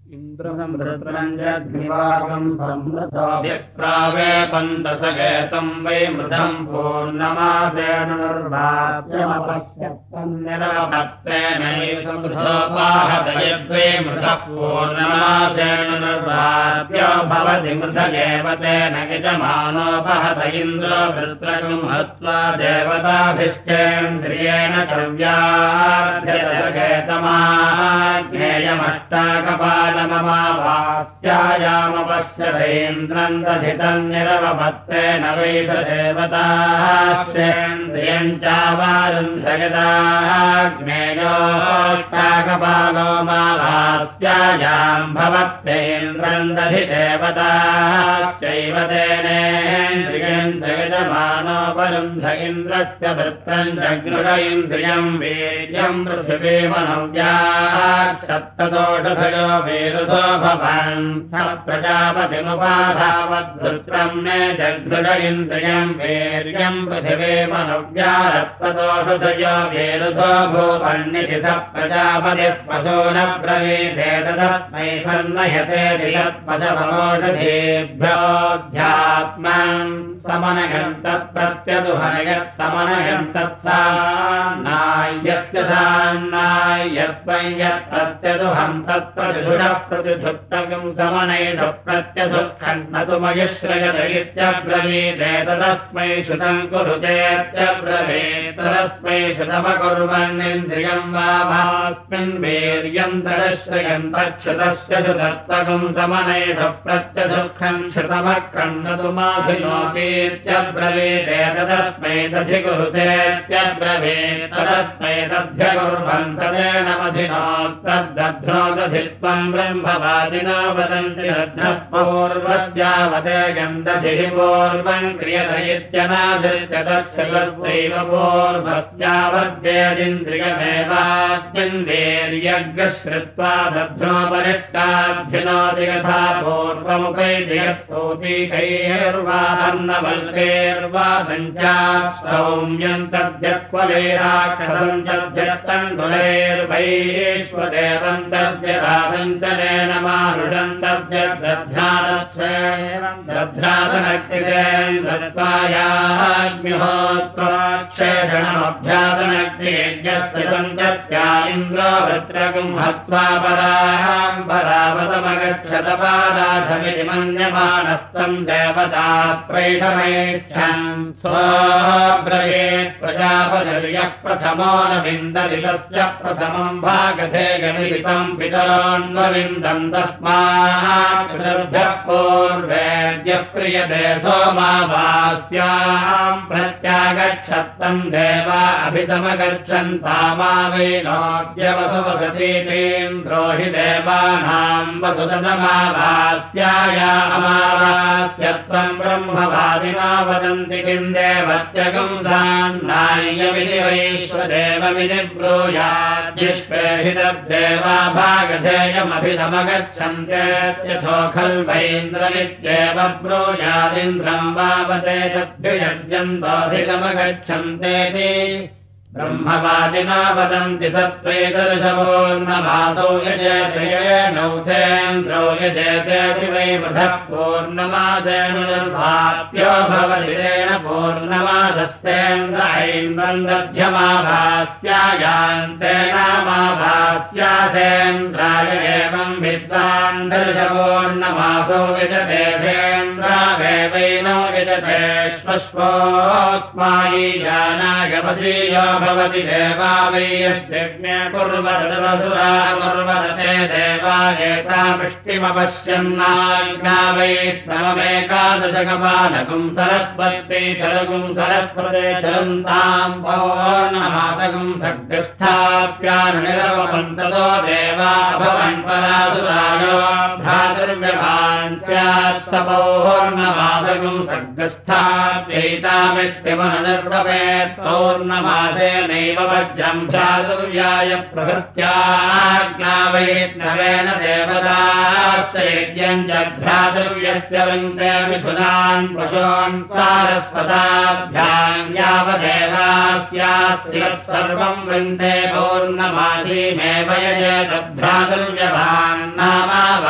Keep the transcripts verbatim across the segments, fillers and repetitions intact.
इन्द्रम् वृत्रञ्जग्निवाकम् संवृतोऽभिप्रावेपन्तसगेतम् वै मृधम् पूर्णमासेन निर्वाप्यमपश्यत्तम् निरवपत्तेनैसमृथोपाहत यद्वै मृधः पूर्णमासेन निर्वाप्यो भवति मृध एव तेन यजमानोपहत इन्द्रो वृत्रकम् हत्वा देवताभिश्चेन्द्रियेण क्रव्याध्येतमाज्ञेयमष्टाकपाल ममावास्यायामपश्यतेन्द्रम् दधितम् निरवपत्तेन वैदेवताश्चेन्द्रियम् चावारुन्धयताग्नेयोष्टाकपालो मावास्यायाम् भवत्येन्द्रम् दधिदेवताश्चैव तेनेन्द्रियम् जगजमानोपरुन्ध इन्द्रस्य वृत्रम् जगृढ इन्द्रियम् वीर्यम् पृथिवीमनव्याक्षत्तदोषधयो वीरुधो भवन् स प्रजापतिमुपाधावद्वृत्रम् मे जगृढ इन्द्रियम् वीर्यम् पृथिवीमनव्यारक्तदोषधयो वीरुधो भूवन्निति स प्रजापतिः पशो न ब्रवीते तदस्मै सन्नयते दिशत्पशमनोषधेभ्योऽध्यात्मम् समनयम् तत्प्रत्यदुहनयत् समनयम् तत्सान्नाय्यस्य सान्नाय्यत्वं यत् प्रत्यदुहम् तत्प्रतिधुरः प्रतिधुक्तकम् समनयिषु प्रत्यधुःखम् न तु मयुश्रयत इत्यब्रवीते तदस्मै श्रुतम् कुरुतेत्यब्रवीत् तदस्मै श्रुतमकुर्वन्निन्द्रियम् वा भास्मिन् वीर्यम् तदश्रयम् तच्छ्रुतस्य श्रुतत्वकम् समनयिषु प्रत्यधुःखम् श्रुतमक्रम् न तु माधिनोति इत्यब्रवीते तदस्मै दधिकुरुतेत्यब्रवीत् तदस्मै दध्यकुर्वन् तदेन मधिनोत्तद्दध्नो दधित्वम् ब्रह्मवादिनो वदन्ति दध्नः पूर्वस्यावदेयम् दधिः पूर्वम् क्रियत इत्यनादित्य तच्छलस्यैव पूर्वस्यावद्येदिन्द्रियमेवास्मिन् वीर्यग्रश्रुत्वा दध्नोपरिष्टाभ्युनोति यथा पूर्वमुपैति यत्पूतीकैर्वाहन्नवल्कैर्वादञ्चा सौम्यम् तद्यक्वलैराक्षसम् तद्यत्तण्डुलैर्वैश्वदेवम् तद्यदादञ्चलेन मारुषम् तद्यद्दध्यादच्छेरम् दध्यादनक्तिरेम् दत्त्वायाग्निहोत्राक्षेषणमभ्यादनक्तियज्ञस्य सन्तत्या इन्द्रो वृत्रकम् हत्वा पराम् परावतमगच्छतपादाधमिति मन्यमानस्तम् देवता प्रैषमेच्छन् स्वब्रवीत् प्रजापतिर्यः प्रथमो न विन्दति तस्य प्रथमम् भागधेयमिति तम् पितरोऽन्वविन्दन् तस्मात् पितृभ्यः पूर्वेद्यः क्रियते सोमावास्याम् प्रत्यागच्छत्तम् देवा अभितमगच्छन्तामावैनोद्यवसुवसतीतीन्द्रो हि देवानाम् वसुतमावास्याया अमावास्यत्वम् ब्रह्मवादिना वदन्ति किम् देवत्यगम् सान्नाय्यमिति वैश्वदेवमिति ब्रूयाद्युष्पे हि तद्देवा भागधेयमभितमगच्छन्त्यसो खल्वैन्द्रमित्येव ब्रूयादिन्द्रम् वावते तद्भियज्यन्तोऽभितमगच्छन्तेति ब्रह्मवादिना वदन्ति सत्त्वैतदशपूर्णमादौ यजेतयेनौ सेन्द्रौ यजेतेति वै वृथः पूर्णमासेन निर्वाप्यो भवति तेन पूर्णमासस्तेन्द्र ऐन्द्रम् दध्यमाभास्यायान्तेनामाभास्यासेन्द्राय एवम् विद्वान् दशपूर्णमासौ यजते सेन्द्रावेवैनौ यजते श्वश्वोऽस्मायि जानाय वसीयो भवति देवा वै यज्ञे कुर्वरसुरा कुर्वरते देवा एतामिष्टिमपश्यन्नाज्ञा वै नवमेकादशकपालकुम् सरस्वती चलकुम् सरस्वते चलन्ताम् पौर्णमातकुम् सग्रस्थाप्यानुनिरवपन्ततो देवा भवन् परासुरायो भ्रातुर्व्यभान् स्यात् स पौर्णमातकुम् सग्रस्थाप्यैतामिष्टिमनुनिर्वपेत् पौर्णमासे नैव वज्रम् भ्रातुर्व्याय प्रभृत्याज्ञा वै नवेन देवताश्च यज्ञम् च भ्रातुर्व्यस्य वृन्दे मिथुनान् पशून् सारस्वताभ्याम् यावदेवास्यास्ति यत्सर्वम् वृन्दे पौर्णमासीमेव यजेत भ्रातुर्व्यभान् नामा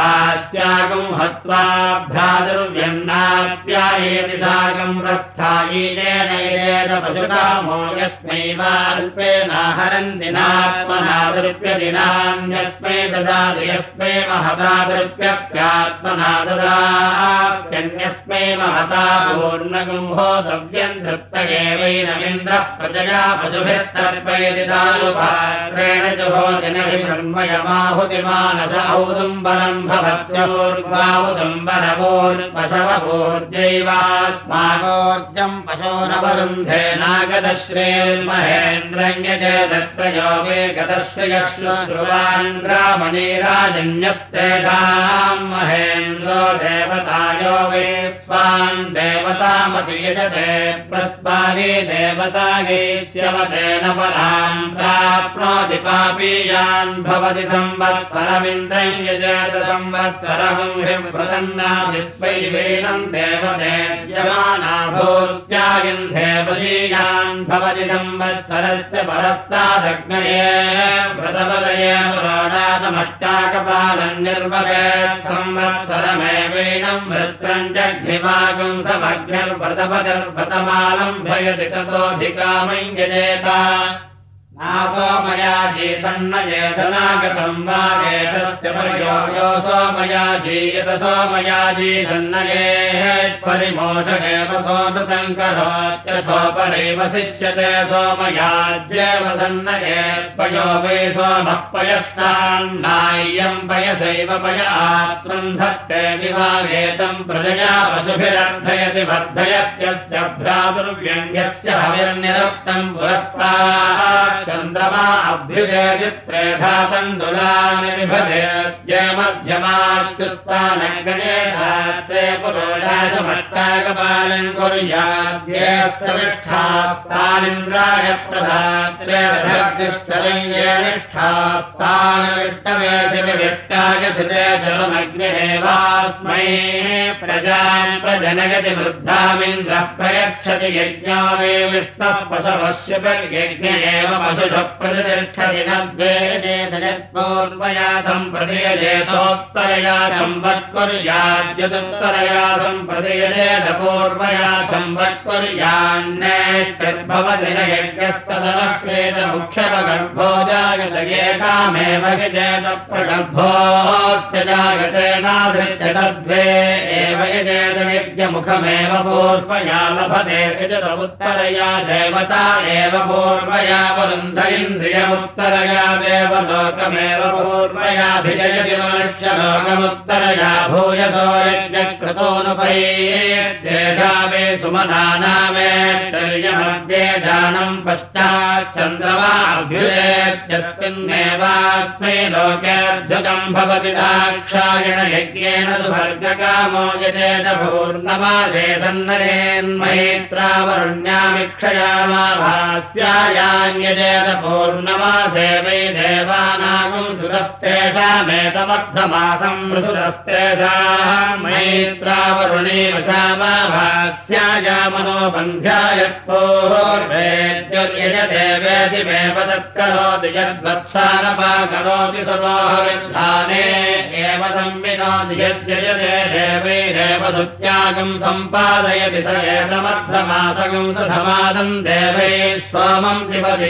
त्वाभ्यादुर्व्यन्नाप्यायेति साकम् प्रस्थायीनेन येन पशुकामो यस्मै वा अल्पेनाहरन्ति नात्मनादृप्यदिनान्यस्मै ददाति यस्मै महतादृप्यप्यात्मना ददात्यन्यस्मै महता पूर्णगुम्भोतव्यम् धृप्तगेवैनमिन्द्रः प्रजया पशुभिस्तर्पयति दारुपात्रेण जुहोदिनभिब्रह्मयमाहुतिमानस औदुम्बरम् भवत्यौर्वाहुदुम्बरवोर्जैवास्मावोर्जम् पशोरवरुन्धे नागदश्रेर्महेन्द्रम् यजेदत्रयो वे गतश्रयश्रुश्रुवान्द्रामणिराजन्यस्तेषाम् महेन्द्रो देवतायो वे स्वान् देवतामति यजते प्रस्मादि देवतागीष्यवतेन पराम् प्राप्नोति पापीयान् भवति संवत्सरमिन्द्रम् यजेत संवत्सरहम् हिप्रसन्नाभिस्वैवेनम् देवतेज्यमाना भूत्यागिन्धे वशीयान् भवति संवत्सरस्य परस्तादग्नये व्रतपदये पुराणातमष्टाकपालम् निर्भवेत् संवत्सरमेवैनम् वृत्रम् जग्निवागम् समग्निर्व्रतपतिर्व्रतमालम् भयति ततोऽधिकामम् यजेत नासो मया जीतन्न येतनागतम् वा एतस्य पर्यो सोमया जीयत सोमया जीतन्नयेत्परिमोषगेव सोऽनृतम् करोत्यसोपरैव शिच्यते सोमयाज्येव सन्नयेत्पयो वै सोमः पयस्तान्नाय्यम् पयसैव पय आत्मम् धत्ते विवागेतम् प्रजया पशुभिरर्थयति वर्धयत्यस्य भ्रातुर्व्यङ्ग्यस्य हविर्निरुक्तम् पुरस्तात् चन्द्रमा अभ्युदयचित्रेधा तण्डुलानि विभजय मध्यमाश्चुत्तानगणे धात्रे पुरोडाशमष्टाकपालम् कुर्याद्येऽस्तविष्ठास्तानिन्द्राय प्रधात्रे रथर्दिष्टरम् ये निष्ठास्तानविष्टवेशि विविष्टाय शिते जलमग्निरेवास्मै प्रजाम् प्रजनयति वृद्धामिन्द्रः प्रयच्छति यज्ञो वे विष्णुः पशवस्य यज्ञ एव पशुषः प्रतिष्ठति नद्वेदेतजत्पूर्वया सम्प्रदीयजेतोत्तरया संवत्कुर्याद्यदुत्तरया सम्प्रदीयजेत पूर्वया संवत्कुर्यान्नेष्टिर्भवति न यज्ञस्तदलक्रेत मुख्यपगर्भो जागत एकामेव यजेत प्रगर्भोऽस्य जागतेनाधृत्य तद्वे एव यजेत यज्ञमुखमेव पूर्वया लभते यजत उत्तरया देवता एव पूर्वया वरुन्धरिन्द्रियमुत्तरया देवलोकमेव पूर्वयाभिजयति मनुष्यलोकमुत्तरया भूयतो यज्ञक्रतोऽनुपैत्येषा वे सुमनानामेत्यर्यमध्ये दानम् पश्चाच्चन्द्रमा अभ्युदेत्यस्मिन्नेवास्मै लोकेऽर्जुकम् भवति दाक्षायण यज्ञेन सुभर्गकामो यजेत पूर्णमासे सन्नरेन्मयित्रावरुण्यामिक्षयामाभास्यायान्यजेत पूर्णमासे वै देवानागुम् सुतस्तेषामेतमर्थमासम् मृसुरस्तेषाम् मैत्रावरुणीमशामाभास्यायामनोबन्ध्यायत्पूर्वेद्युर्यजदेवेति मेव तत्करोति यद्वत्सारपा करोति सदोहविद्धाने एव संविनोति यद्यजते देवैरेव सुत्यागम् सम्पादयति स एतमर्थमासगम् सधमादम् देवैः सोमम् पिबति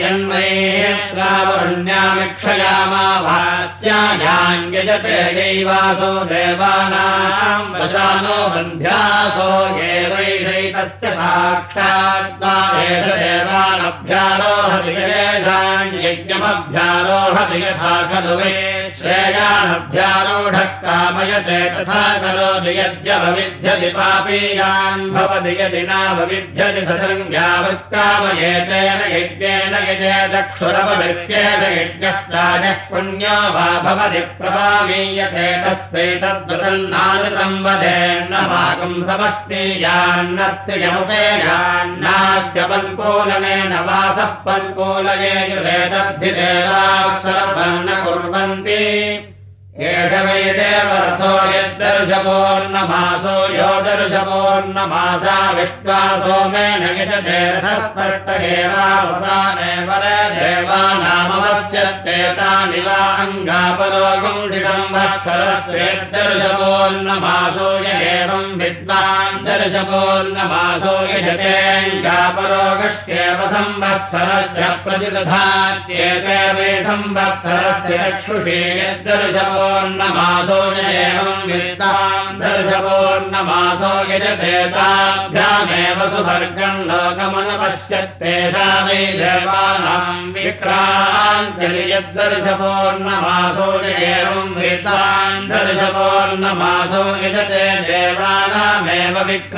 यन्मैत्रावरुण्यामिक्षयामाभास्यायाञ्यजते यैवासो देवानाम् वशानो बन्ध्यासो एवैषैतस्य साक्षात्कारेष देवानभ्यारोहति यज्ञमभ्यारोहति यथा खलु वै श्रेयानभ्यारोढः कामयते तथा करोति यद्यवविध्यति पापीयान् भवति यदि नावविध्यति ससंज्ञावत्कामयेतेन यज्ञेन यजेदक्षुरवृत्येत यज्ञस्ताजः पुण्यो वा भवति प्रभावीयते तस्यैतद्वदन्नानुतम् वदेन्नमाकम् समस्तीयान्नस्ति यमुपेयान्नास्य पन्पूलनेन वासः पन्पूलये युरेतद्धिदेवाः सर्वम् न कुर्वन्ति एष वै देवरथो यद्दर्शपूर्णमासो यो दर्शपूर्णमासा विश्वा सोमेन यजते रथस्पष्टगेवावसाने वरे देवानामवस्यत्तेतानि वा अङ्गापरो गुण्डितम् संवत्सरस्येद्दर्शपोर्णमासो य एवं विद्वान् दर्शपोर्णमासो यजतेऽङ्गापरोगष्ट्येव संवत्सरस्य प्रतिदधात्येते वै संवत्सरस्य चक्षुषे यद्दर्शपोर्णमासो य एवं विद्वान् दर्शपोर्णमासो यजते ताभ्यामेव सुभर्गं लोकमनुपश्यत्तेषा वै देवानां विक्रान्तिर् यद्दर्शपोर्णमासो य एवं विद्वान् दर्शपोर्णमासो यजते देवानामेव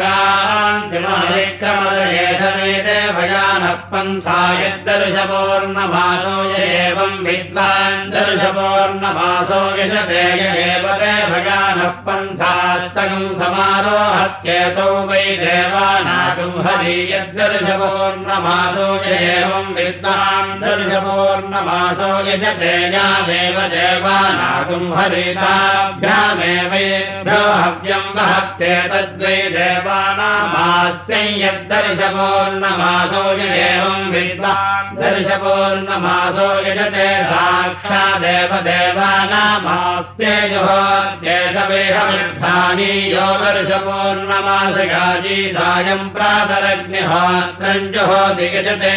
विक्रान्तिमविक्रमदयेषमेते भयानः पन्था यद्दर्शपोर्णमासो य एवं विद्वान् दर्शपोर्णमासो यजते य एव ते भयानः पन्थास्तगं समारोहत्येतौ वै देवानागं हरि यद्दर्शपोर्णमासो य एवं विद्वान् दर्शपोर्णमासो यजते यामेव देवानागं हरिताभ्यामेवेभ्यो हव्यं वहत्ते तद्वै देवानामास्यै यद्दर्शपोर्णमासो य एवं विद्वान् दर्शपोर्णमासो यजते साक्षादेव देवानामास्ते जुहोत्येषवेहविद्धानि यो दर्शपोर्णमासगाजी सायं प्रातरग्निहोत्रं जुहोति यजते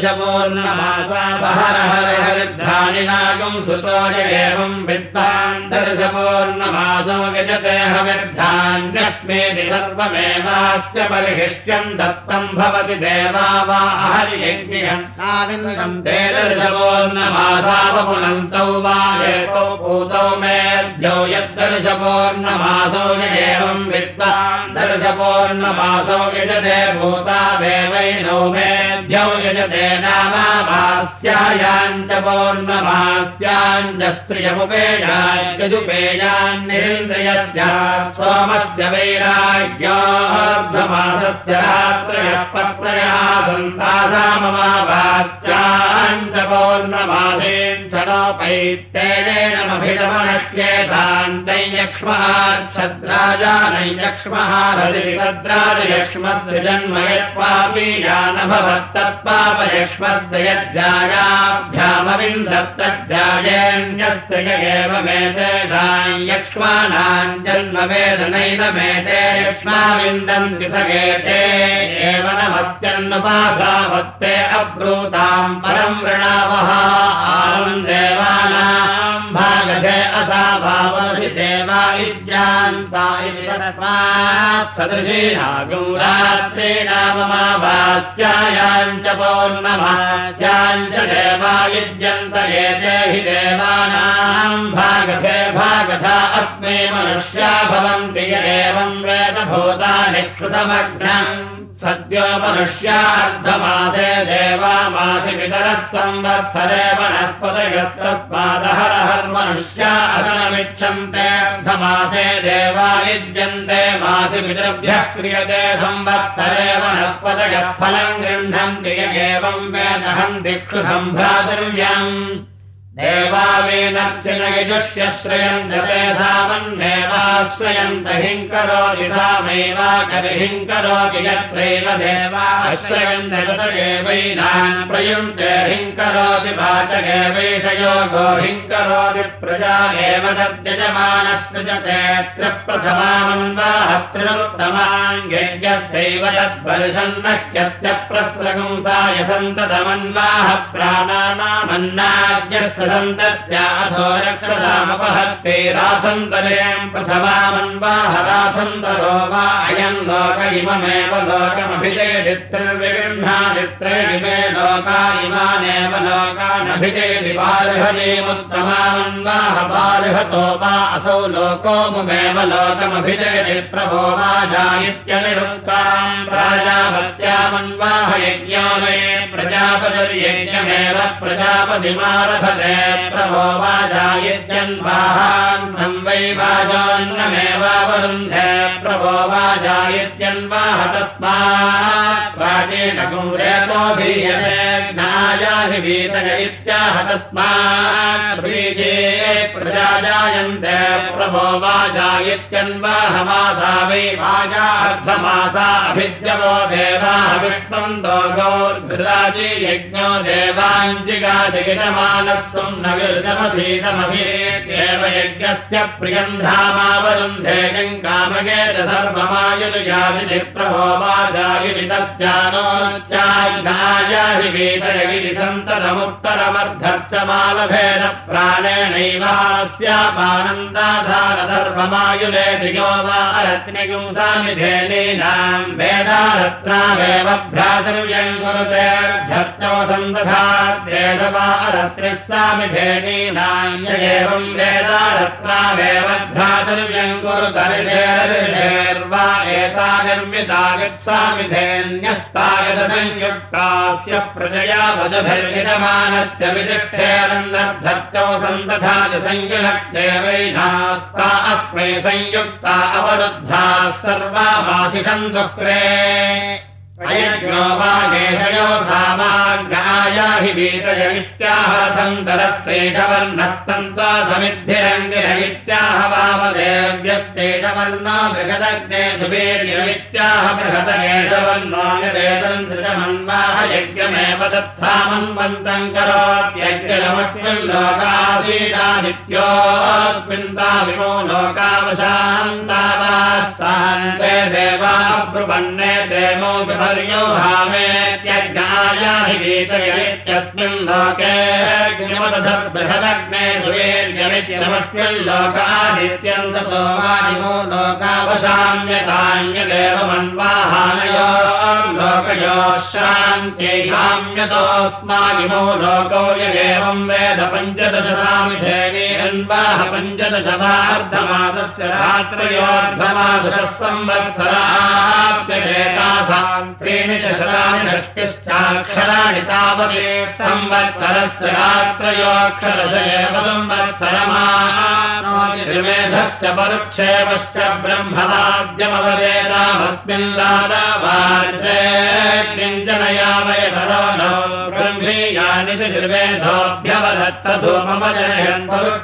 दर्शपोर्णमासावहरहरहविद्धानि नागं सुतो य एवं विद्वान् दर्शपोर्णमासो यजते हविर्धान्यस्मेति सर्वमेवास्य परिहिष्यं दत्तं भवति देवा वा हरियज्ञं नाविन्दं ते दर्शपोर्णमासावपुनन्तौ वा एकौ भूतौ मेऽद्यौ यद्दर्शपोर्णमासो य एवं विद्वान् दर्शपोर्णमासो यजते भूतावेवैनौ मेऽद्यौ यजते नामाभास्यायाञ्च पौर्णमास्याञ्जस्त्रियमुपेयाञ्जजुपेयान्निरिन्द्रियस्यात् सोमस्य वैराग्योऽर्धमासस्य रात्रयः पत्रयः सन्तासाममाभास्याञ्च पौर्णमासेञ्च नोपैत्तेनेनमभिरमणक्येतान्तैयक्ष्महाच्छद्राजानैयक्ष्मः रतिरितद्राजयक्ष्मस्य जन्म यत्पापीयानभवत्तत्पापयक्ष्मस्य यज्जायाभ्यामविन्दत्तज्जायेऽन्यस्य य एवमेतेषां यक्ष्माणां जन्म वेदनैनमेते यक्ष्माविन्दन्ति स एते एव नमस्त्यन्नुपाधावत्ते अब्रूतां परं वृणावः आलं देवानां भागधे असाभावसि देवा इज्जान्ता इति तस्मात् सदृशीनागं रात्रीणाममाभास्यायाञ्च पौर्णमास्याञ्च देवा युज्यन्त एते हि देवानां भागधे भागधा अस्मै मनुष्या भवन्ति य एवं वेद भूतानि क्षुतमग्नम् सद्यो मनुष्यार्धमासे देवामासि पितरः संवत्सरे वनस्पतयस्तस्मादहरहर्मनुष्या असनमिच्छन्तेऽर्धमासे देवा युज्यन्ते मासि पितृभ्यः क्रियते संवत्सरे वनस्पतयः फलं गृह्णन्ति य एवं वेदहन्ति क्षुसम्भ्रातृव्यम् देवावेनक्षिणयजुष्य श्रयन्त ते धामन्नेवाश्रयन्त हिङ्करोति सामैवाकरिहिङ्करोति यत्रैव देवाश्रयन्त ततगेवैनान् प्रयुङ्क्ते हिङ्करोति वाचगेवैषयोगो हिङ्करोति प्रजा एव तद्यजमानः सृजते त्रिप्रथमामन्वाहत्रिरुत्तमाङ्गेज्ञस्यैव तद्वर्षन्नह्यत्यप्रस्रगुंसाय सन्ततमन्वाह प्राणानामन्नाद्यस्य सन्तत्या अथो रक्षसामपहत्ते रासन्तरें प्रथमामन्वाह रासन्तरो वा अयं लोक इममेव लोकमभिजयति त्रिर्विगृह्णादित्रयिमे लोका इमानेव लोकानभिजयति बार्हजीमुत्तमामन्वाह बार्हतो वा असौ लोको मुमेव लोकमभिजयति प्रभो वा जायित्यनिरुक्तां प्राजापत्यामन्वाह यज्ञो मे प्रजापतिर्यज्ञमेव प्रजापतिमारभते प्रभो वाजायित्यन्वाहान्नं वै वाजोन्नमेवावरुन्धे प्रभो वाजायित्यन्वाह तस्मात् प्राचीनकुम्रेतो धीयते ज्ञायाहि वीतय इत्याह तस्मात् बीजे प्रजा जायन्ते प्रभो वाजायित्यन्वाहमासा वै वाजा अर्धमासा अभिद्यवो देवाः विष्णुन्दो गौर्घृताजी यज्ञो देवाञ्जिगादिगिटमानस्त्वं न विरुजमसीतमधीत्येव यज्ञस्य प्रियन्धामावरुन्धे कामगेत सर्वमायुर्यादिति प्रभो वाजायिति तस्यानोच्चाय्यायिवीतयगिरि सन्ततमुत्तरमर्धच्चमालभेद प्राणेनैवास्यापानन्दाधार सर्वमायुलेति यो वा रत्निगुंसामिधेनीनां वेदारत्नावेव भ्रातृव्यं कुरुतेऽर्धत्यो सन्दधाद्येष वा रत्निः सामिधेनीनां य एवं वेदारत्नावेव भ्रातृव्यं कुरुतर्षेर्वा एता निर्मिता गच्छामिधेन्यस्तागतसंयुक्तास्य प्रजया वशभिर्यजमानस्य विदिष्ठेरन्नर्धत्यो सन्दधाति संयुनक्ते वैनास्ता अस्मै संयुक्ता अवरुद्धाः सर्वामासि सन्दुक्रे अयज्ञो वागेशयो सामाज्ञायाहि वीतयमित्याह सन्तरस्यैषवर्णस्तन्त्वा समिद्भिरङ्गिरमित्याह वामदेव्यस्यैषवर्णो बृहदग्ने सुवीर्यमित्याह बृहदगेशवर्णो यदेतन्त्रिजमन्वाह यज्ञमेव तत्सामन्वन्तम् करोत्यज्ञमस्मिन् लोकासीदादित्योऽस्मिन् ताविमो लोकावशान्तावास्तान्ते देवा ब्रुवन्ने देवो यो भामेत्यज्ञायाधिवीतयमित्यस्मिन् लोके बृहदग्ने सुवीर्यमित्यनमस्मिन् लोकादित्यन्ततो वादिमो लोकावशाम्यतान्यदेवमन्वाहानयो लोकयोः शान्त्यै शाम्यतोऽस्मादिमो लोको यगेवं वेद पञ्चदशसामिधेनीरन्वाह पञ्चदशवार्धमासस्य रात्रयोर्धमासः संवत्सराप्यजेतासाम् त्रीणि च शतानि षष्टिश्चाक्षराणि तावति संवत्सरस्य रात्रयोऽक्षरश एव संवत्सरमानोति त्रिमेधश्च परुक्षेपश्च ब्रह्मवाद्यमवदेतामस्मिन् लादावार्जे किञ्चनया वयधरो नो ब्रह्मीयानि त्रिवेदोऽभ्यवधत्सधूमम जनयन्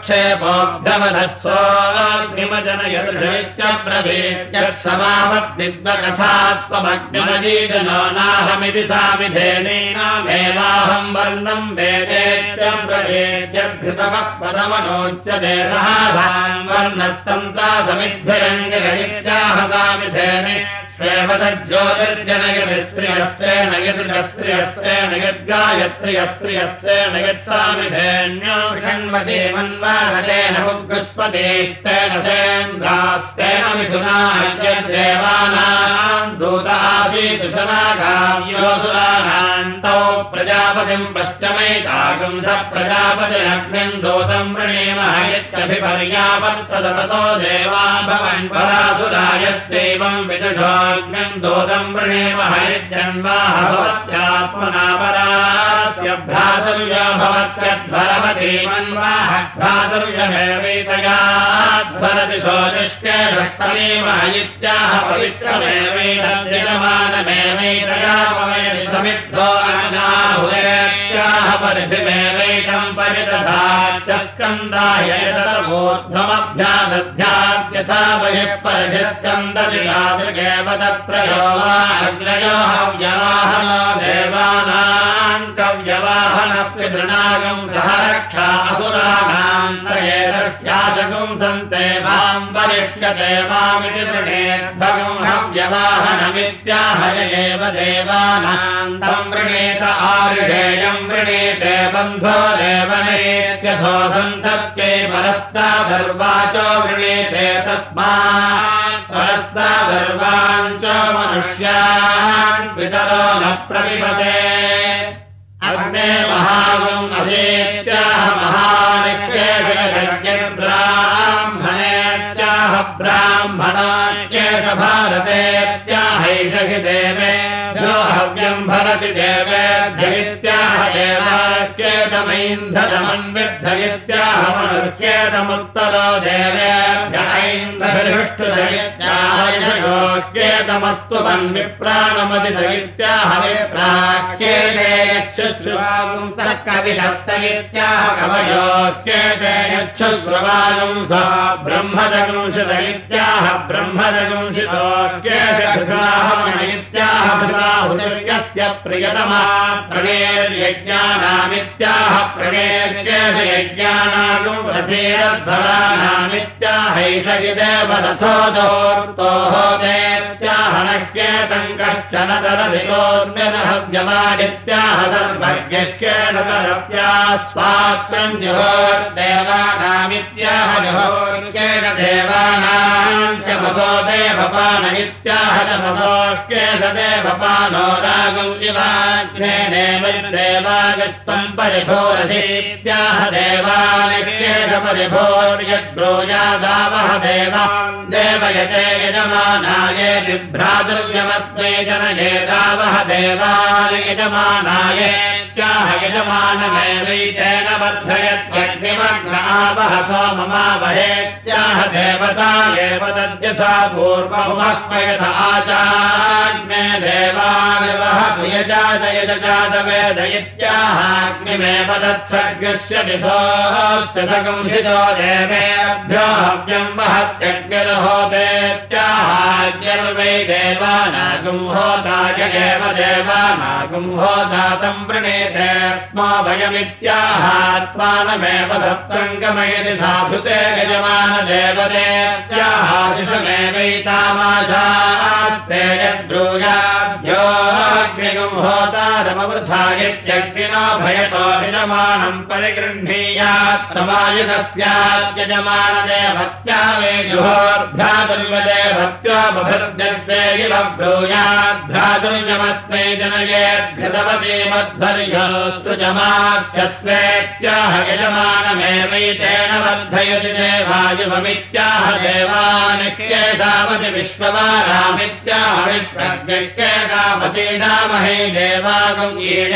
परुक्षेपोऽभ्यवधत्सोऽग्निमजनयत्समावद्विद्वकथात्वमग्निमजीजनो नाहमिति सामिधेनीनामेवाहं वर्णं वेदेत्यं प्रवेद्यभृतवः पदमनोच्यते सहासां वर्णस्तन्त्रा समिद्भिरङ्गिरनित्याह सामिधेनि श्वेवतज्योतिर्जनयतिस्त्रियस्तेन यद्रस्त्रियस्तेन यद्गायत्रियस्त्रियस्तेन यत्सामिधेन्यो षण्मते मन्वाहतेन मुद्गस्पतेस्तेन सेन्द्रास्तेन मिथुनाद्यदेवानां दूतासीतुशनागाव्योऽसुराणान्तौ प्रजापतिं पश्चमैतागं स प्रजापतिरग्निं दूतं वृणीमः यत्यभिपर्यावर्तततो देवान् भवन् परासुरायस्यैवं विदुषो दोदं वृणेम हरिजन्वाह भवत्यात्मना परास्य भ्रातुर्यो भवत्यध्वरमधीमन्वाह भ्रातुर्यमेवैतयाध्वरति सोऽनिष्के दष्टमेमः इत्याह पवित्रमेवैतद्यमानमेवैतयामवेदि समिद्धो अनाहुदेत्याह परिधिमेवैतं परिदधात्य स्कन्दाय तदर्वोध्वमभ्यादध्याद्यथा बहिः परिधिस्कन्दति यादृगेव तत्र यो वा अग्नयो हव्यवाहनो देवानां कव्यवाहनः पितॄणागं सह रक्षा असुराणां त्रयेदर्श्याशगुं सन्ते मां वरिष्यते मामिति वृणेद्भगं हव्यवाहनमित्याहय एव देवानां तं वृणीत आरुषेयं वृणीते बन्धो देवनेत्यसो सन्तत्यै परस्तादर्वाचो वृणीते तस्मात् परस्तादर्वाञ्च मनुष्यान् पितरो न प्रविशते अग्ने महागुम् असेत्याह महानित्येषब्राह्मणेत्याह ब्राह्मणाच्येष भारतेत्याहैष हि देवेभ्यो हव्यं भरति देवेभ्यैत्याह देवाच्येतमैन्धनमन्विद्धयित्याह मनुष्येतमुत्तरो देवेभ्य ऐन्धरिष्ठुदयित्याहयोच्येतमस्तु मन्विप्राणमदिदयित्याह विप्राच्येते यच्छुश्रुवागुंसः कविशस्त इत्याह कवयोच्येते यच्छुश्रुवागुंसः ब्रह्मदगुंसित इत्याह ब्रह्मदगुंसितोच्येते भृताहवण इत्याह भृताहुतिर्यस्य प्रियतमा प्रणेर्यज्ञानामित्याह प्रणेर्येष यज्ञानागुं रथेरध्वरानामित्याहैष इदेव रथोदोर्तोः देत्याह नक्येतं कश्चन तरधितोर्म्यनहव्यमाडित्याह सर्वज्ञश्चेन तरस्यास्वात्रं जुहोर्देवानामित्याह जुहोर्केण देवानां च मसो देवपान इत्याह च मसोऽश्चेष देवपानो रागं जिवाग्नेनेव देवागस्त्वं परिभोरसीत्याह देवानिश्चेष परिभोर्यद्ब्रूयादावह देवा देवयते यजमानाय बिभ्रातुर्यमस्मै जनयेदावह देवानि यजमानाय त्याह यजमानमेवैतेन वर्धयत्यग्निमग्नावह सोममावहेत्याह देवता एव तद्यथा पूर्वमुपक्वयत आचाग्ने देवाविवह सुयजातयजातवेद इत्याहाग्निमेव तत्सर्गस्य दिशोऽस्ति सगंसितो देवेभ्यो हव्यं वहत्यग्निर्होतेत्याहाग्निर्वै देवानागुं होताय एव देवानागुं होतातं प्रणीते स्मो वयमित्याहात्मानमेव सत्त्वङ्गमयति साधुते यजमानदेवतेत्याहाशिषमेवैतामाशास्ते यद्ब्रूयाद्योऽग्निगुं होतारमवृथायत्यग्निनो भयतो यजमानं परिगृह्णीयात्तमायुधस्याद्यजमानदेवत्या वे जुहोर्भ्रातुर्यदेवत्यो बभृद्यर्वे इव ब्रूयाद्भ्रातुर्यमस्मै जनयेद्भ्यदवती मध्वर्योऽस्तुजमास्यस्वेत्याह यजमानमेवैतेन वर्धयति देवायुवमित्याह देवानित्येषावति विश्ववारामित्याह विश्वज्ञैकावतीनामहे देवागुं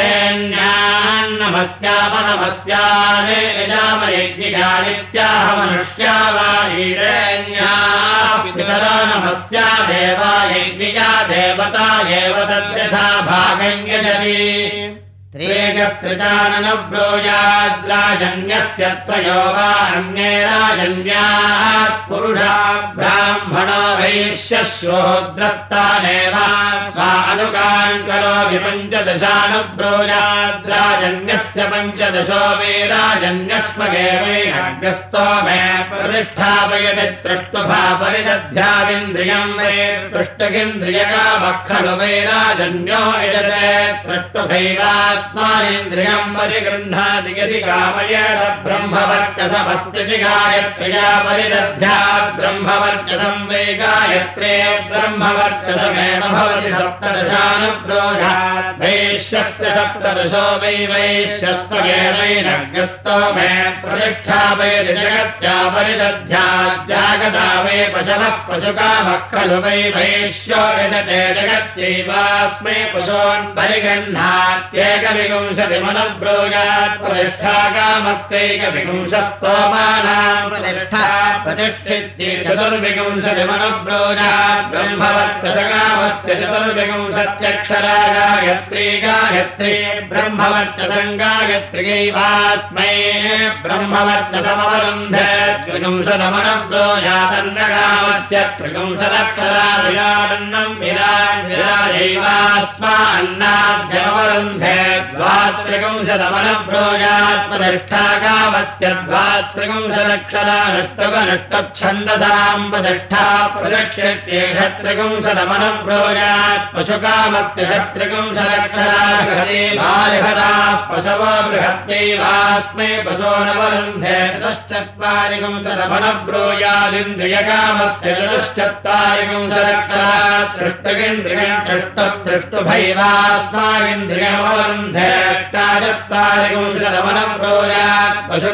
ईडेन्यान्नमस्यामनमस्याने यजामयज्ञिकानित्याह मनुष्या वा ईडेन्याः पितरो नमस्या देवा यज्ञिया देवता एव तद्यथा भागं यजति त्रेजस्त्रिजाननब्रूयाद्राजन्यस्य त्वयो वा अन्ये राजन्यात् पुरुषा ब्राह्मणो वैश्यश्रोद्रस्तानेव स्वा अनुगान् करोति पञ्चदशानुब्रूयाद्राजन्यस्य पञ्चदशो वै राजन्यस्मगेवैरग्रस्तो मे प्रतिष्ठापयति त्रुष्टुभा परिदध्यादिन्द्रियं वै तुष्टगिन्द्रियकामः खलु वै राजन्यो यजते त्रुष्टुभैवा स्मानिन्द्रियं परिगृह्णाति यदि कामयेण ब्रह्मवर्चसमस्ति गायत्र्या परिदध्यात् ब्रह्मवर्चसं वै गायत्रे ब्रह्मवर्चसमेव भवति सप्तदशानुब्रूयात् वैश्यस्य सप्तदशो वै वैश्यस्वगेवैरग्रस्तो मे प्रतिष्ठापयति जगत्या परिदध्यात् जागता वै पशवः पशुकामः खलु वै वैश्यो यजते जगत्यैवास्मै पशून् परिगृह्णात्येक विंशतिमनुब्रूयात् प्रतिष्ठाकामस्यैकविंशस्तोमानां प्रतिष्ठा प्रतिष्ठित्यै चतुर्विंशतिमनुब्रूयात् ब्रह्मवर्चसकामस्य चतुर्विंशत्यक्षरा गायत्री गायत्री ब्रह्मवर्चसं गायत्र्यैवास्मै ब्रह्मवर्चसमवरुन्धे त्रिविंशतमनुब्रूयादन्नकामस्य त्रिविंशदक्षरा विराडन्नं विराट् विराजैवास्मा अन्नाद्यमवरुन्धे द्वात्रिंशतमनुब्रूयात् प्रतिष्ठाकामस्य द्वात्रिंशदक्षरानुष्टुकनुष्टुप्छन्दसां प्रतिष्ठा प्रदक्ष्यत्येष त्रिंशतमनुब्रूयात् पशुकामस्य षट्त्रिंशदक्षरा बालहराः पशवो बृहत्यैवास्मै पशोनवरुन्धे चतुश्चत्वारिंशतमनुब्रूयादिन्द्रियकामस्य चतुश्चत्वारिंशदक्षरा तृष्टुगिन्द्रियं तृष्टुतृष्टुभैवास्मागिन्द्रियमवरुन्धे अष्टाचत्वारिंशतमनुब्रूयात्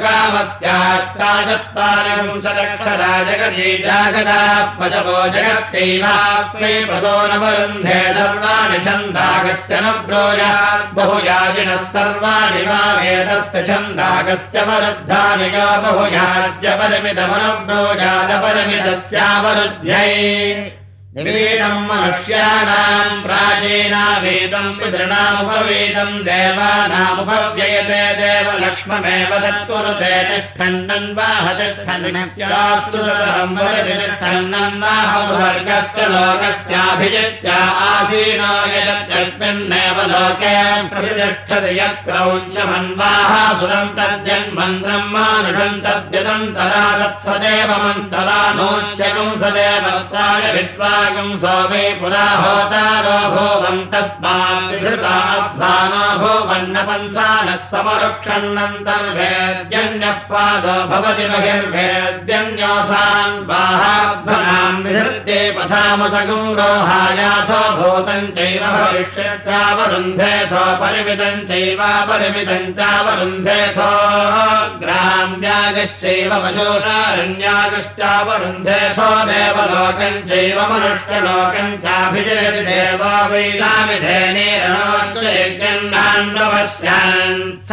पशुकामस्याष्टाचत्वारिंशदक्षरा जगती जागता पशवो जगत्यैवास्मै पशोनवरुन्धे सर्वाणि छन्दागस्य नुब्रूयात् बहुयाजिनः सर्वाणि वा वेदस्य छन्दागस्य वरुद्धानि यो बहुयाज्यपरिमितमनुब्रूयादपरिमितस्यावरुध्यै निवेदम् मनुष्याणाम् प्राचीनावेदम् पितॄणामुपवेदम् देवानामुपव्ययते देवलक्ष्ममेव तत्कुरुते तिष्ठन्नन्वाह तिष्ठन्नम् वदति तिष्ठन्नन्वाह वर्गस्य लोकस्याभिजित्य आसीनो यस्मिन्नेव लोके प्रतिष्ठति यत्क्रौञ्चमन्वाह सुरम् तद्यन्मन्त्रम् मानुषम् तद्यदन्तरा तत्सदेवमन्तरा नोच्यकम् सदेवत्ताय विद्वा सोमे पुरा होतारो भुवन् तस्मान्धृताध्वानो भुवन्नपन्सानः समरुक्षन्नन्तर्वेद्यन्यः पादो भवति बहिर्वेद्यन्योऽसान् बाहाध्वनाम् विधृत्ये पथामसगुम् रोहायाथो भूतम् चैव भविष्यच्चावरुन्धेथो परिमितम् चैवापरिमितम् चावरुन्धेथो ग्राम्यागश्चैव पशूनारण्यागश्चावरुन्धेथो देवलोकम् चैव मनुष्यलोकम् चाभिजयति देवा वैलामिधेनेरनोच्चयज्ञन्नान्नवस्यान् स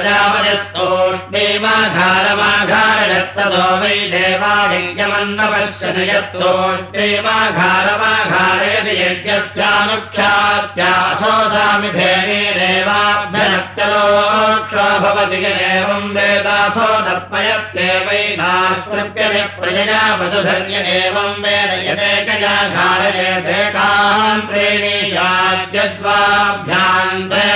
प्रजापयस्तोष्णीमाघारमाघारयत्तदो वै देवायज्ञमन्नपश्यन् यत्तोष्णीमाघारमाघारयति यज्ञस्यानुख्यात्याथो सामिधेनेरेवाभ्यनत्यलोक्षो भवति एवम् वेदाथो तर्पयत्येवैनास्तृप्यते प्रजया पशुधन्य एवम् वेद यदेकया घारयेदेकान् प्रीणीयाद्यद्वाभ्यान्ते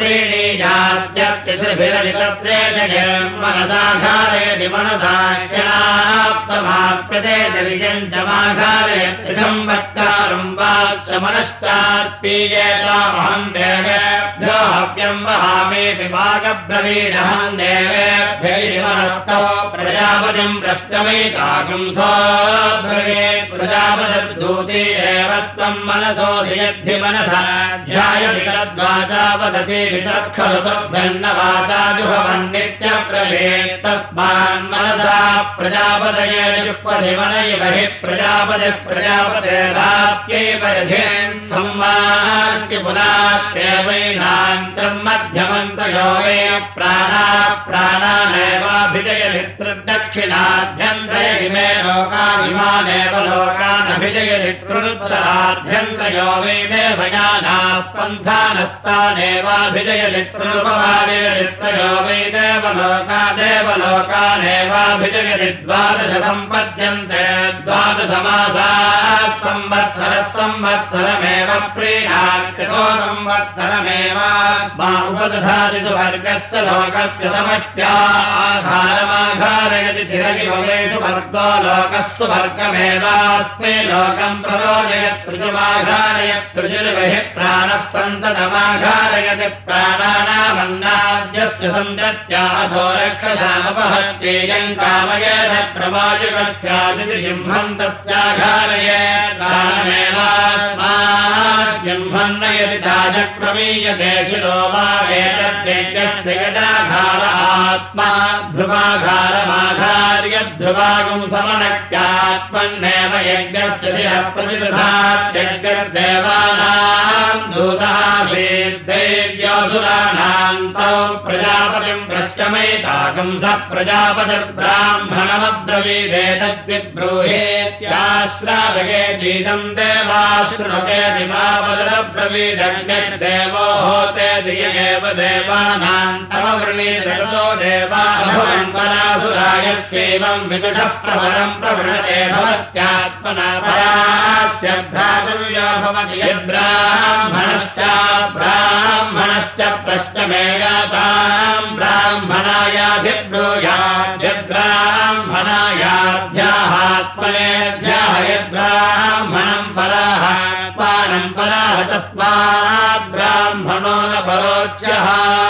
प्रीणीयाद्यर्तिसृभिरजितत्रे जयम् मनसा घारयति मनसाख्यनाप्तमाप्यते दर्यम् च माघारयत्यथम् वक्तारम् वाच्च मनश्चात्पीयेतामहम् देवेभ्यो हव्यम् वहामीति वागब्रवीणहम् देवेभ्यैः मनस्तौ प्रजापतिम् प्रष्टमैताकम् सोऽब्रवीत् प्रजापतिर्दूती एव त्वम् मनसोऽसि यद्धि मनसा ध्यायति तद्वाचा वदति तत्खलु तद्भिन्नवाचा जुहवन्नित्यब्रवीत् तस्मान्मनसा प्रजापतये जुह्वति मन इव हि प्रजापतिः प्रजापतिर्वाप्यैव रथिन् संवाक्य पुनात्येवैनान्तम् मध्यमन्तयो वै प्राणाः प्राणानेवाभिजयति त्रिदक्षिणाभ्यन्तरे इमे लोकानिमानेव लोकानभिजयति त्रिरुद्राभ्यन्तयो वै देवयानाः पन्थानस्तानेवाभिजयति त्रिरुपवादयति त्रयो वै देवलोका देवलोकानेवाभिजयति द्वादश सम्पद्यन्ते द्वादशमासाः संवत्सरः संवत्सरमेव प्रीणाक्षतो संवत्सरमेवास्मा उपदधाति सुवर्गस्य लोकस्य समष्ट्या आघारमाघारयति तिरगिभवेषु वर्गो लोकः सुवर्गमेवास्मै लोकम् प्ररोजयत् ऋजुमाघारयत् ऋजुर्बहिः प्राणः सन्ततमाघारयति प्राणानामन्नाद्यस्य सन्तत्याथो रक्षसामपहत्येयम् कामयेत प्रवायुकस्यादिति जिह्मन्तस्याघारयेत् प्राणमेवास्माद्जिह्मन्न यदि ताजक्रमीयते शिरो वा एतद्यज्ञस्य यदाघार आत्मा ध्रुवाघारमाघार्यध्रुवागुम् समनक्त्यात्मन्नेव यज्ञस्य शिरः प्रतिदधात् यज्ञर्देवानाम् दूतासीद्दैव्योऽसुराणाम् तौ प्रजापतिम् भ्रष्टमैताकम् स प्रजापतिर्ब्राह्मणमब्रवीदेतद्विब्रूहेत्याश्रावयेतीदम् देवाश्रुणुतेति मावदरब्रवीदग्निर्देवो होतेति य एव देवानाम् तमवृणीतगतो देवाभवन् परासुरायस्यैवम् विदुषः प्रबलम् प्रवृणते भवत्यात्मना परास्य भ्रातव्यो भवति यद्ब्राह्मणश्च ब्राह्मणश्च प्रश्नमेयाताम् ब्राह्मणायाधिब्रूयात् यद्ब्राह्मणायाध्याहात्मनेऽध्याह यद्ब्राह्मणम् पराः पानम् पराः तस्मात् ब्राह्मणो न परोच्यः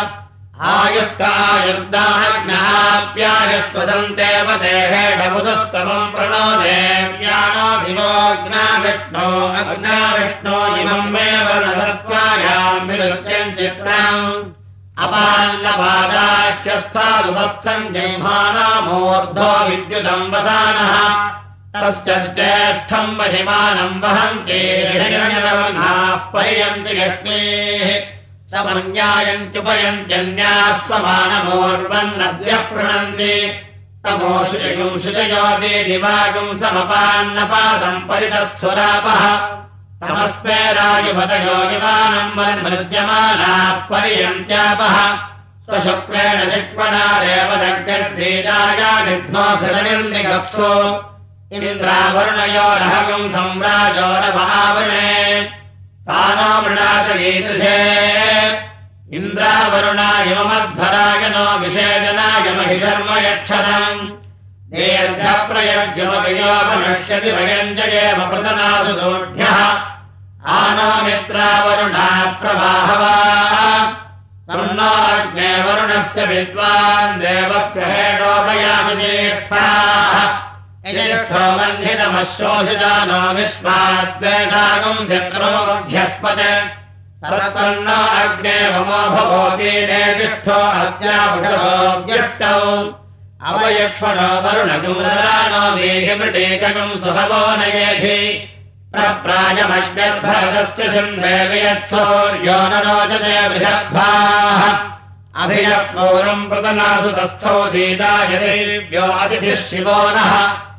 आयुष्कायुर्दाहज्ञाप्यायस्वदन्तेव देहेडमुदुत्तमम् प्रणो देव्यानो दिवोऽग्नाविष्णो अग्नाविष्णो इमम् मे वर्णधत्वायाम् विदुत्यम् चित्रम् अपाल्लपादाख्यस्थादुपस्थम् जिह्मानामूर्ध्वो विद्युतम् वसानः तस्य ज्येष्ठम् महिमानम् वहन्ति हिरण्यवर्णाः पर्यन्ति लक्ष्मीः समन्यायन्त्युपयन्त्यन्याः समानमूर्वन्नद्यः प्रणन्ति तमोषुजयुं शुजयोति दिवागुं समपान्नपादम् परितस्थुरापः तमस्मे राजुपतयो युवानम् वन्मृज्यमानाः पर्यन्त्यापः स्वशुक्रेण शिक्वणारेव दग्गर्दीजाया निघ्नो घृतनिर्निगप्सो इन्द्रावरुणयोरहगुम् सम्राजोरभावणे तानो मृणाच गीतुषे इन्द्रावरुणायमध्वराय नो विषेदनाय महि शर्म यच्छतम् दीर्घप्रयज्ञमतियो मनुष्यति भयञ्जयेम प्रतनासु दोढ्यः आनो मित्रावरुणा प्रवाहवा तन्नो अग्ने वरुणस्य विद्वान् देवस्य हेडोपयासि ज्येष्ठाः यज्ञो वह्नितमश्रोषिजानो विस्माद्वेषागुम् शत्रोऽभ्यस्पत् सर्वन्नो अग्ने वमो भवोति नेतिष्ठो अस्याभुषसोऽव्यष्टौ अवयक्ष्मणो वरुणगुमरानो वीहिमृटेकगुम् सुहवो नयेधि प्रप्रायमग्निर्भरतस्य शृण्वे वियत्सौर्यो न रोचते बृहद्भाः अभियः पौरम् प्रतनासु तस्थौ दीदायदेव्यो अतिथिः शिवो नः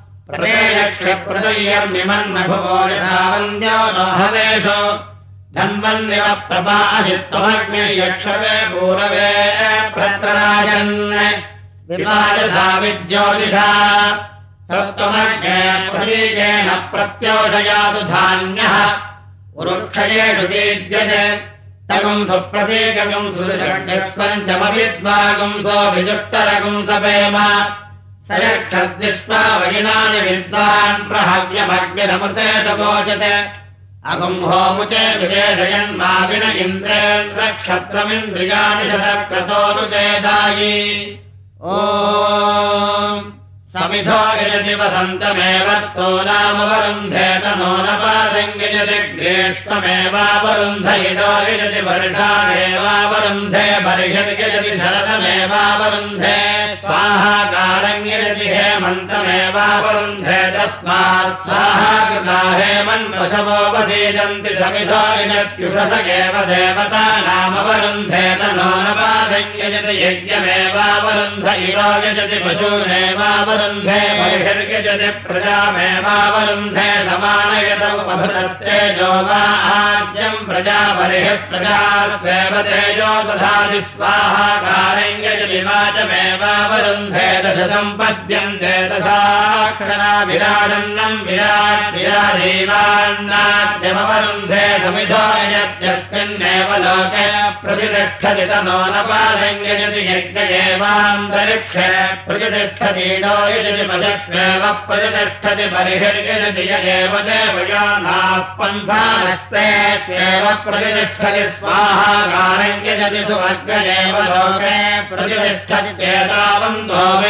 प्रतेयक्षप्रदय्यर्मिमन्मभुवो यथा वन्द्यो नो हवेषो धन्वन्निव प्रपादित्वमग्निर्यक्षवे पूरवे प्रत्रराजन् विपायसा विज्योतिषा सत्त्वमग्ने प्रतीकेन प्रत्योषयातु धान्यः उरुक्षयेषु दीज्यते तगुं सुप्रतीकगुं सुदृशण्यस्पञ्चमविद्वागुं सो विदुष्टरगुं सपेम स यक्षद्विष्पा वयिनानि विद्वान् प्रहव्यमग्निरमृते शोचते अगुम् होमुचे विवेशयन्माविन इन्द्रेन्द्रक्षत्रमिन्द्रियाणि शतक्रतोनुतेदायि ॐ समिधो यजति वसन्तमेव तो नामवरुन्धेत नो न पादम् यजति ग्रेष्ममेवावरुन्ध इडो यजति वर्षादेवावरुन्धे बर्हिर्यजति शरदमेवावरुन्धे स्वाहाकारम् यजति हेमन्तमेवावरुन्धे तस्मात् स्वाहाकृता हेमन्वशवो वसीदन्ति समिधो यजत्युषस एव देवतानामवरुन्धेत नो न पादम् यजति यज्ञमेवावरुन्ध इडो यजति पशूनेवावरुन्धे बर्हिर्यजति प्रजामेवावरुन्धे समानयतौ उपभृतस्तेजो वा आज्यम् प्रजा बर्हिः प्रजा स्वेव तेजो दधाति स्वाहाकारम् यजति वाचमेवावरुन्धे दश सम्पद्यन्ते दशाक्षरा विराडन्नम् विराट् विराजीवान्नाद्यमवरुन्धे समिधो यजत्यस्मिन्नेव लोके प्रतिष्ठति तनो न पादम् यजति यज्ञ एवान्तरिक्षे प्रतिष्ठति यजति पशुष्वेव प्रतिष्ठति बर्हिर्यजति यदेव देवयानाः पन्थानस्तेष्वेव प्रतिष्ठति स्वाहाकारम् यजति सुवर्गेव लोके प्रतिष्ठति चेतावन्तो वै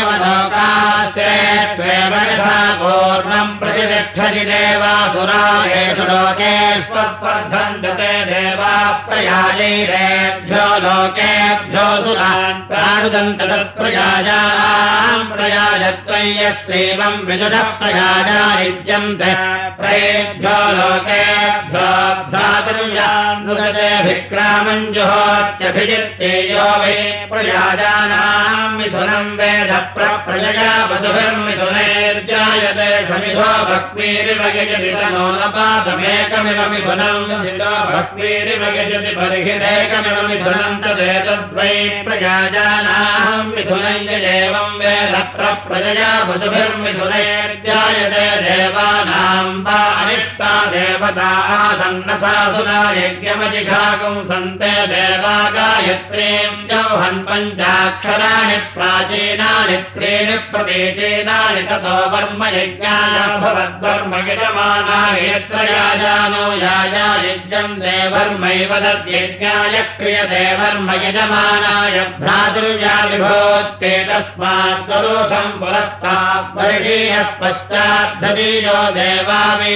देवलोकास्तेष्वेव यथा पूर्वम् प्रतिष्ठति देवासुरायेषु लोकेष्वस्वर्धन्ते देवाः प्रयाजैरेभ्यो लोकेभ्यो सुरान् प्राणुदन्त तत्प्रयाजाम् प्रयाजत्वम् यस्त्वेवम् विदुषः प्रयाजानिज्यन्ते प्रयेभ्यो लोकेभ्यो भ्रातृव्यान्नुदते भिक्रामम् जुहोत्यभिजित्ते यो वै प्रयाजानाम् मिथुनम् वेद प्रप्रजया वसुभिर्मिथुनैर्जायते समिधो भक्मीरिव यजति तनो न पादमेकमिव मिथुनम् यजितो भक्मीरिव यजति बर्हिरेकमिव मिथुनम् तदेतद्वै प्रयाजानाम् मिथुनम् यजेवम् वेद प्रप्रजया वसुभिर्मिथुनैर्जायते देवानाम् वा अनिष्टा देवता आसन्नसासुरा यज्ञमजिघागुम् सन्ते देवा गायत्रीम् जौहन् पञ्चाक्षराणि प्राचीनानि त्रीणि प्रतीचीनानि ततो वर्म यज्ञाय भवद्वर्म यजमानाय यत्र याजानो याजा युज्यन्ते वर्मैव तद्यज्ञाय क्रियते वर्म यजमानाय भ्रातृव्या विभोत्ते तस्मात् करोषम् पुरस्तात् वर्षीयः पश्चाद्धतीयो देवा वै पुरा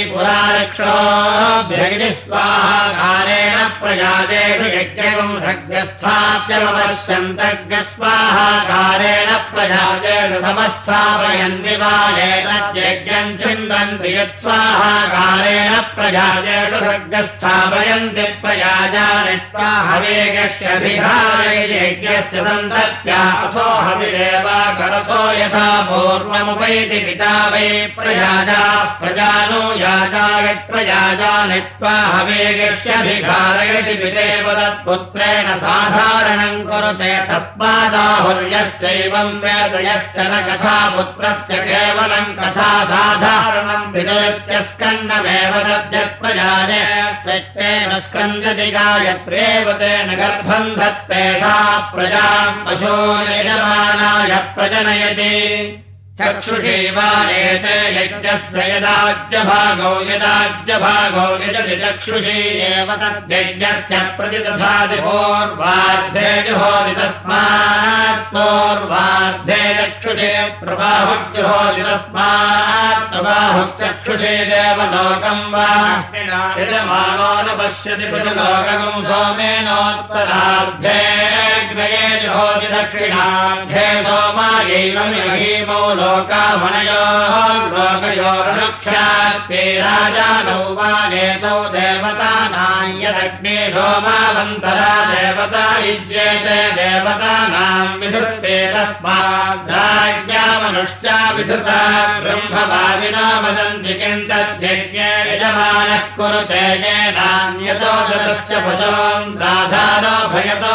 चक्षोभ्यगिनि स्वाहाकारेण प्रजातेषु यज्ञम् सग्रस्थाप्यमपश्यन्तज्ञ स्वाहाकारेण प्रजातेषु समस्थापयन् विवाहेन यज्ञम् छिन्दन्ति यत्स्वाहाकारेण प्रजातेषु सग्रस्थापयन्ति प्रजाजानिष्वा हवेगस्यभिहारयति यज्ञस्य सन्तत्या अथो हविरेवाकरसो यथा पूर्वमुपैति पिता वै प्रजाजाः प्रजानो याजायत् प्रजाजानिष्वा हवेगस्यभिहारयति पितेव तत्पुत्रेण साधारणम् कुरुते तस्मादाहुर्यश्चैवम् वेद यश्च न कथा पुत्रस्य केवलम् कथा साधारणम् विदत्यस्कन्नमेव तद्यत्प्रजाने स्वेत्तेन स्कन्दति गायत्रेव तेन गर्भम् धत्ते सा प्रजाम् पशून् यजमानाय प्रजनयति चक्षुषी वा एते यज्ञस्य यदाज्यभागौ यदाज्यभागौ यजति चक्षुषी एव तद्यज्ञस्य प्रतिदधाति पूर्वार्धे जुहोति तस्मात् पूर्वार्धे चक्षुषे प्रबाहुर्जुहोति तस्मात् प्रबाहुश्चक्षुषे देवलोकम् वा यजमानो न पश्यति प्रतिलोकम् सोमेनोत्तरार्धे ग्रये जुहोति दक्षिणार्धे सोमायैवम् यहीमौ लोकामनयोः लोकयोर्नुख्यात्ते राजानौ वा नेतौ देवतानाम् यदग्ने सोमावन्तरा देवता युज्येते देवतानाम् विधृते तस्माद्राज्ञा मनुष्या विधृता ब्रह्मवादिना वदन्ति किम् तद्यज्ञे यजमानः कुरुते येनान्यतो ददश्च पशून् राधानो भयतो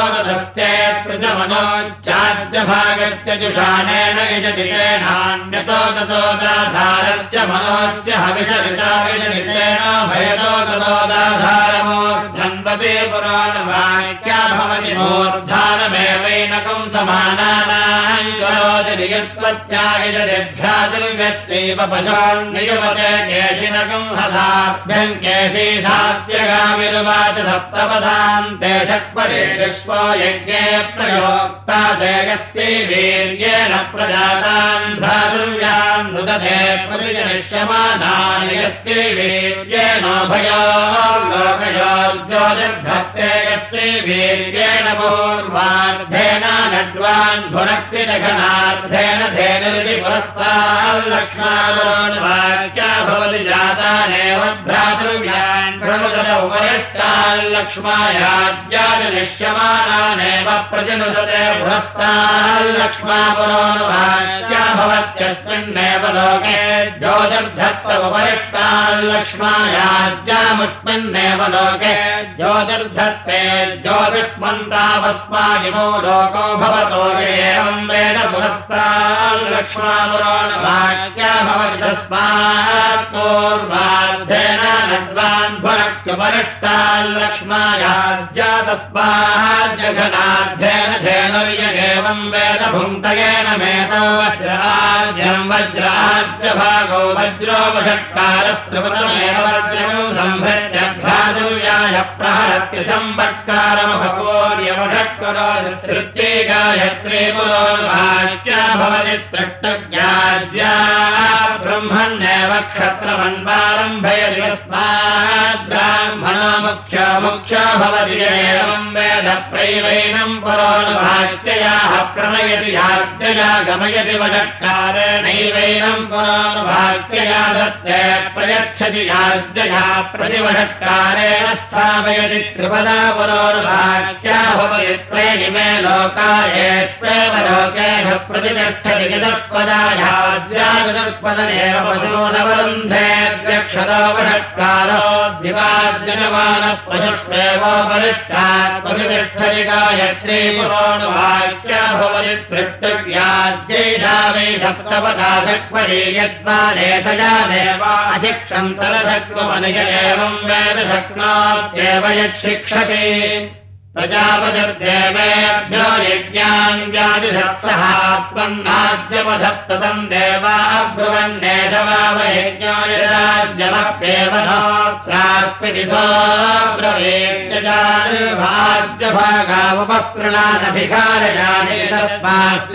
ददश्चेत्कृतमनोच्चाद्यभागस्य जुषाणेन यजति नान्यतो ततो दाधारश्च मनोच्च हविषरिता विजनितेन भयतो ततो दाधारमूर्धन्वते पुराणवाक्या भवति मूर्धानमेवैनकम् समानानाम् करोति नियत्वत्या यजतिभ्यादिर्व्यस्तेव पशोन्नियुवते केशिनकम् हसाभ्यम् केशीधात्यगामिरुवाच सप्तपदान्ते षट्पदे विश्वो यज्ञे प्रयोक्ता देयस्यै वीर्येण प्रजातान् भ्रातृव्यान् नुदते प्रतिजनिष्यमानानि यस्यै वीर्येणोभयो लोकयोर्ज्योतिर्धत्ते यस्यै वीर्येण पूर्वार्धेन नड्वान् भुनक्तिदघनार्धेन धेनुरिति पुरस्ताल्लक्ष्मादोन्वाक्या भवति जातानेव भ्रातृव्यान् प्रणुदत उपरिष्टाल्लक्ष्मायाज्याजनिष्यमानानेव प्रतिनुदते पुरस्ताल्लक्ष्मापुरोन्वाक्या भवत्यस्मिन्नेव लोके ज्योतिर्धत्त उपरिष्टाल्लक्ष्मायाज्यामुष्मिन्नेव लोके ज्योतिर्धत्ते ज्योतिष्मन्तावस्मादिमो लोको भवतो एवं वेद पुरस्ताल्लक्ष्मापुरोन्वाक्या भवति तस्मात् पूर्वार्धेन नड्वान् भुनक्त्युपरिष्टाल्लक्ष्मायाज्या तस्माज्जघनार्धेन धेनुर्य एवं वेद भुङ्क्तयेन मेतो वज्राज्यम् वज्राज्यभागो वज्रोपषट्कारस्त्रिपदमेव वज्रम् संभृत्य भ्रातृव्याय प्रहरत्युसम्पट्कारमभवोर्यवषट्करोस्तृत्ये गायत्री पुरोर्वाक्या भवति त्रष्टज्ञाज्या ब्रह्मण्येव क्षत्रमन्वारम्भयति यस्मात् ब्राह्मणो मुख्यो मुख्यो भवति एवं वेद प्रैवैनम् पुरोर्वाक्ययाः प्रणयति याज्ञया गमयति वषट्कारेणैवैनम् पुरोर्वाक्यया दत्ते प्रयच्छति याज्ञया प्रतिवषट्कारेण स्थापयति त्रिपदा पुरोर्वाक्या भवति त्रयिमे लोका येष्वेव लोकेषु प्रतिष्ठति चतुष्पदा याज्ञा चतुष्पदनेव पशूनवरुन्धेऽध्यक्षरो वषट्कारो दिवाज्जनमानः पशुष्वेवोपरिष्टात् प्रतिष्ठति गायत्री पुरोर्वाक्या भवति तृष्टव्याज्यैषा वै सप्तपदा सक्वरी यद्वानेतया देवाशिक्षन्तरशक्वमनिज एवं वेद शक्नोत्येव यच्छिक्षति प्रजापतिर्देवेभ्यो यज्ञान् व्याधिसत्सहात्मन्नाद्यपधत्ततम् देवा ब्रुवन्नेषवावयज्ञो यदा भाज्यमप्येव नोत्रास्मिति सोऽब्रवीत्यजाभाज्यभागावपस्तृणानभिकारयानि तस्मात्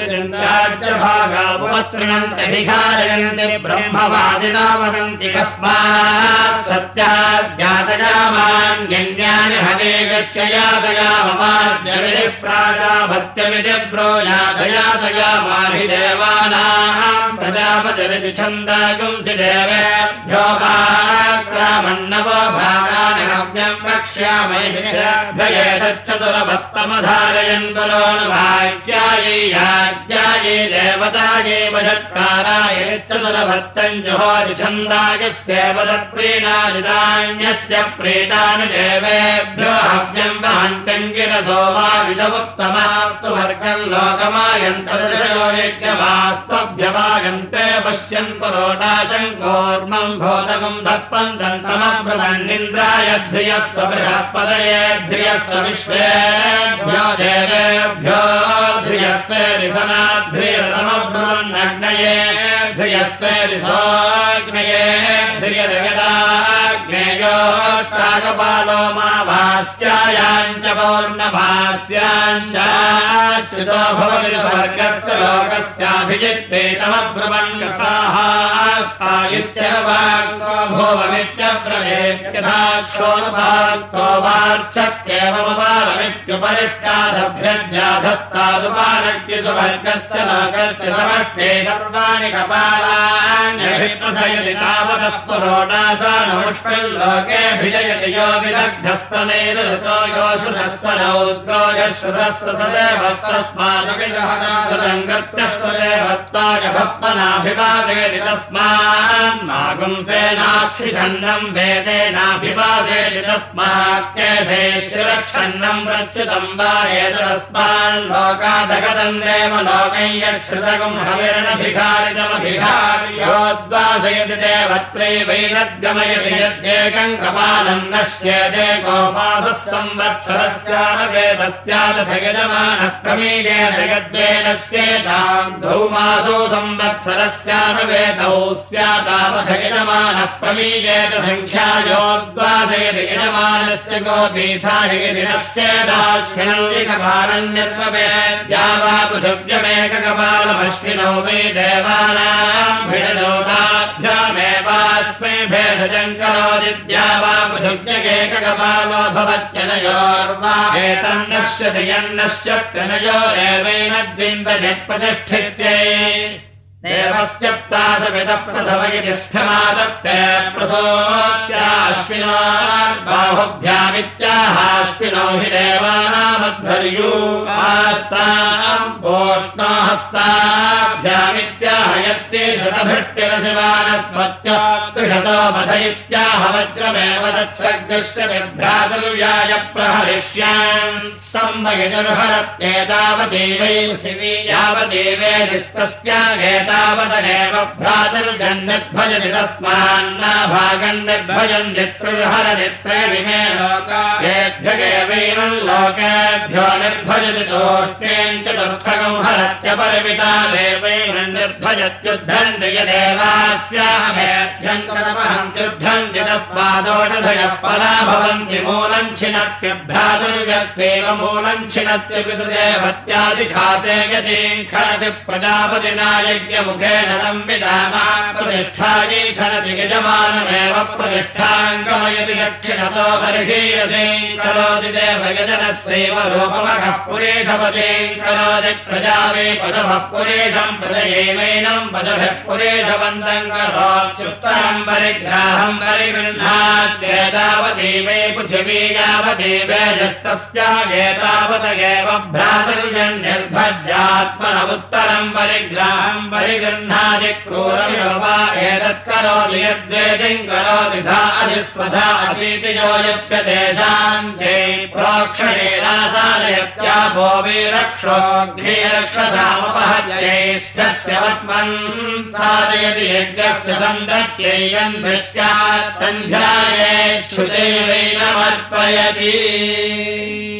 राज्यभागावपस्तृणन्त्यभिकारयन्ति ब्रह्मवादिनो वदन्ति कस्मात् सत्याद्यातयामान्यन्यानि हवेगस्य यातयाममाद्यविधि प्राजाभत्यविधि ब्रोयातयातयामाहि देवानाम् प्रजापतिरिति छन्दागुंसि देवेभ्यो भाक्रामन्नवो भागानि हव्यम् वक्ष्यामि भयेतच्चतुरभक्तमधारयन् बलोऽनुभाग्यायै याज्ञायै देवतायै वषट्काराय चतुरभक्तम् जुहोति छन्दागस्येव तत्प्रीणादिदान्यस्य प्रीतानि देवेभ्यो हव्यम् वहन्तम् गिरसो वा विदमुत्तमास्तु वर्गम् लोकमायन्तदृशयो यज्ञवास्तव्यवागन्ते पश्यन् पुरोटाशम् कूर्मम् भूतकम् सर्पम् दन्तमब्रह्मन्निन्द्राय ध्रियस्व बृहस्पतये ध्रियस्व विश्वेभ्यो देवेभ्यो ध्रियस्वेरिसनाध्रियतमब्रह्मन्नग्नये ध्रियस्वेरिसोऽग्नये ध्रियदगदाग्नेयोष्टाकपालो मा भास्यायाम् च पौर्णभास्याम् चाच्युतो भवति स्वर्गस्य लोकस्याभिजित्ते तमब्रह्मन्साः स्थायित्यवाक्तो भुवमित्यब्रवेत्यथाक्षोऽनुभाक्तो वार्च्छत्येवमपालमित्युपरिष्टादभ्यध्याधस्तादुपालक्य सुवर्गस्य लोकस्य समष्टे सर्वाणि कपालान्यभिप्रथयति तावतः पुरोडाशानुष्मिल्लोकेऽभिजयति यो विदग्धस्तनैरतो योषुधस्वनौद्रो यश्रुतस्वदेवस्तस्मादभिजहनासुरङ्गत्यस्वदेवत्ताय भस्मनाभिवादेति तस्मान्मागुंसेनाक्षिषन्नम् वेदेनाभिवादेति तस्मात्केशे श्रिरक्षन्नम् प्रच्युतम् वा एतदस्माल्लोकादगतम् देव लोकम् यच्छ्रुतकम् हविरणभिखारितमभिखार्योद्वासयति देवत्रैवैरद्गमयति यद्येकम् कपालम् नश्येदेकोपासः संवत्सरस्यानवेदस्यादथ यजमानः प्रमीयेत यद्वेनश्चेताम् धौमासो संवत्सरस्यानवेदौ स्यातावथ यजमानः प्रमीयेत सङ्ख्यायोद्वासयति यजमानस्य गोपीथायति नश्चेदाश्विनौलिकपालन्यर्ववेद्या वा पृथिव्यमेककपालमश्विनौ वै देवानाम् भिडदोताभ्यामेवास्मै भेषजम् करोदिद्या वा पृथिव्यकेककपालो भवत्यनयोर्वा एतन्नश्यति यन्नश्यत्यनयोरेवैन द्विन्दजत्प्रतिष्ठित्यै देवस्यप्तासविदः प्रसव इति स्फमादत्ते प्रसोत्याश्विनोर्बाहुभ्यामित्याहाश्विनौ हि देवानामध्वर्यूपास्ताम् पोष्णो हस्ताभ्यामित्याहयत्ते शतभृष्टिरशिवानस्मत्यात्तुषतो वध इत्याह वज्रमेव तत्सर्गश्च निर्भ्रातुर्व्याय प्रहरिष्यान् संवयजुर्हरत्येतावदेवै पृथिवी यावदेवेदिस्तस्या तावदेव भ्रातर्जन्निर्भजति तस्मान्नाभागम् निर्भजन् नित्रुर्हर नित्रैरिमे लोकाभ्येभ्यगेवैनम् लोकेभ्यो निर्भजति तोष्टेम् चतुर्थकम् हरत्यपरिमिता देवैनम् निर्भजत्युद्धन्ति यदेवास्यामेध्यम् कृतमहन्त्युद्धन्ति तस्मादोषधयः परा भवन्ति मूलम् छिनत्यभ्रातुर्व्यस्तेव मूलम् छिनत्यपितृदेवत्यादिखाते यतीम् खनति प्रजापतिना मुखेन संविधाना प्रतिष्ठायै खनति यजमानमेव प्रतिष्ठाम् गमयति दक्षिणतो बर्हीयसे करोति देवयजनस्यैव रूपमखः पुरेशपतिम् करोति प्रजा वै पदभः पुरेशम् प्रजयैवैनम् पदभिः पुरेशवन्तम् करोत्युत्तरम् परिग्राहम् परिगृह्णात्येतावदेवै पृथिवी यावदेवेजस्तस्यागेतावत एव भ्रातृव्यन्निर्भज्यात्मनमुत्तरम् परिग्राहम् परिगृह्णाति क्रूरमिव वा एतत्करोति यद्वेदिम् करोति धा अधिस्वधा अतीति यो यप्यतेषाम् ते प्रोक्षणेनासादयत्यापो वीरक्षोऽग्निरक्षसामपहत्यैष्ठस्य वत्मन् सादयति यज्ञस्य सन्दत्यै यन्भृष्ट्यात् सन्ध्यायेच्छुते वैनमर्पयति